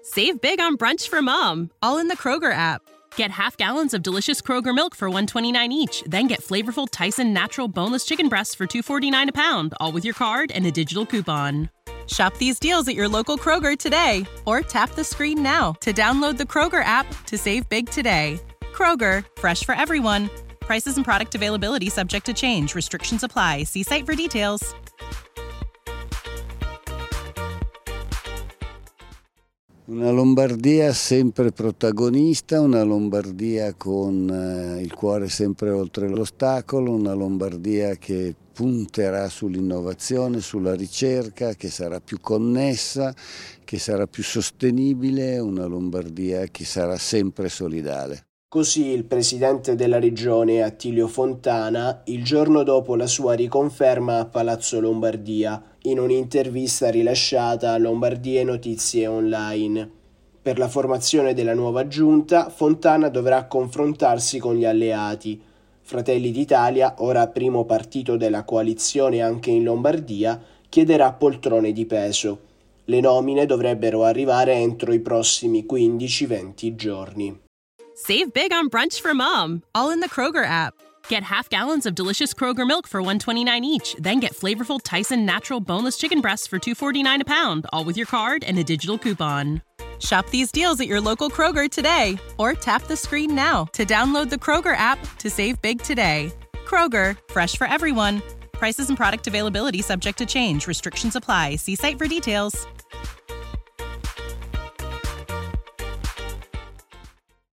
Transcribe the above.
Save big on brunch for mom, all in the Kroger app. Get half gallons of delicious Kroger milk for $1.29 each. Then get flavorful Tyson natural boneless chicken breasts for $2.49 a pound, all with your card and a digital coupon. Shop these deals at your local Kroger today, or tap the screen now to download the Kroger app to save big today. Kroger, fresh for everyone. Prices and product availability subject to change. Restrictions apply. See site for details. Una Lombardia sempre protagonista, una Lombardia con il cuore sempre oltre l'ostacolo, una Lombardia che punterà sull'innovazione, sulla ricerca, che sarà più connessa, che sarà più sostenibile, una Lombardia che sarà sempre solidale. Così il presidente della regione Attilio Fontana il giorno dopo la sua riconferma a Palazzo Lombardia in un'intervista rilasciata a Lombardia Notizie Online. Per la formazione della nuova giunta Fontana dovrà confrontarsi con gli alleati. Fratelli d'Italia, ora primo partito della coalizione anche in Lombardia, chiederà poltrone di peso. Le nomine dovrebbero arrivare entro i prossimi 15-20 giorni. Save big on brunch for mom, all in the Kroger app. Get half gallons of delicious Kroger milk for $1.29 each. Then get flavorful Tyson natural boneless chicken breasts for $2.49 a pound, all with your card and a digital coupon. Shop these deals at your local Kroger today, or tap the screen now to download the Kroger app to save big today. Kroger, fresh for everyone. Prices and product availability subject to change. Restrictions apply. See site for details.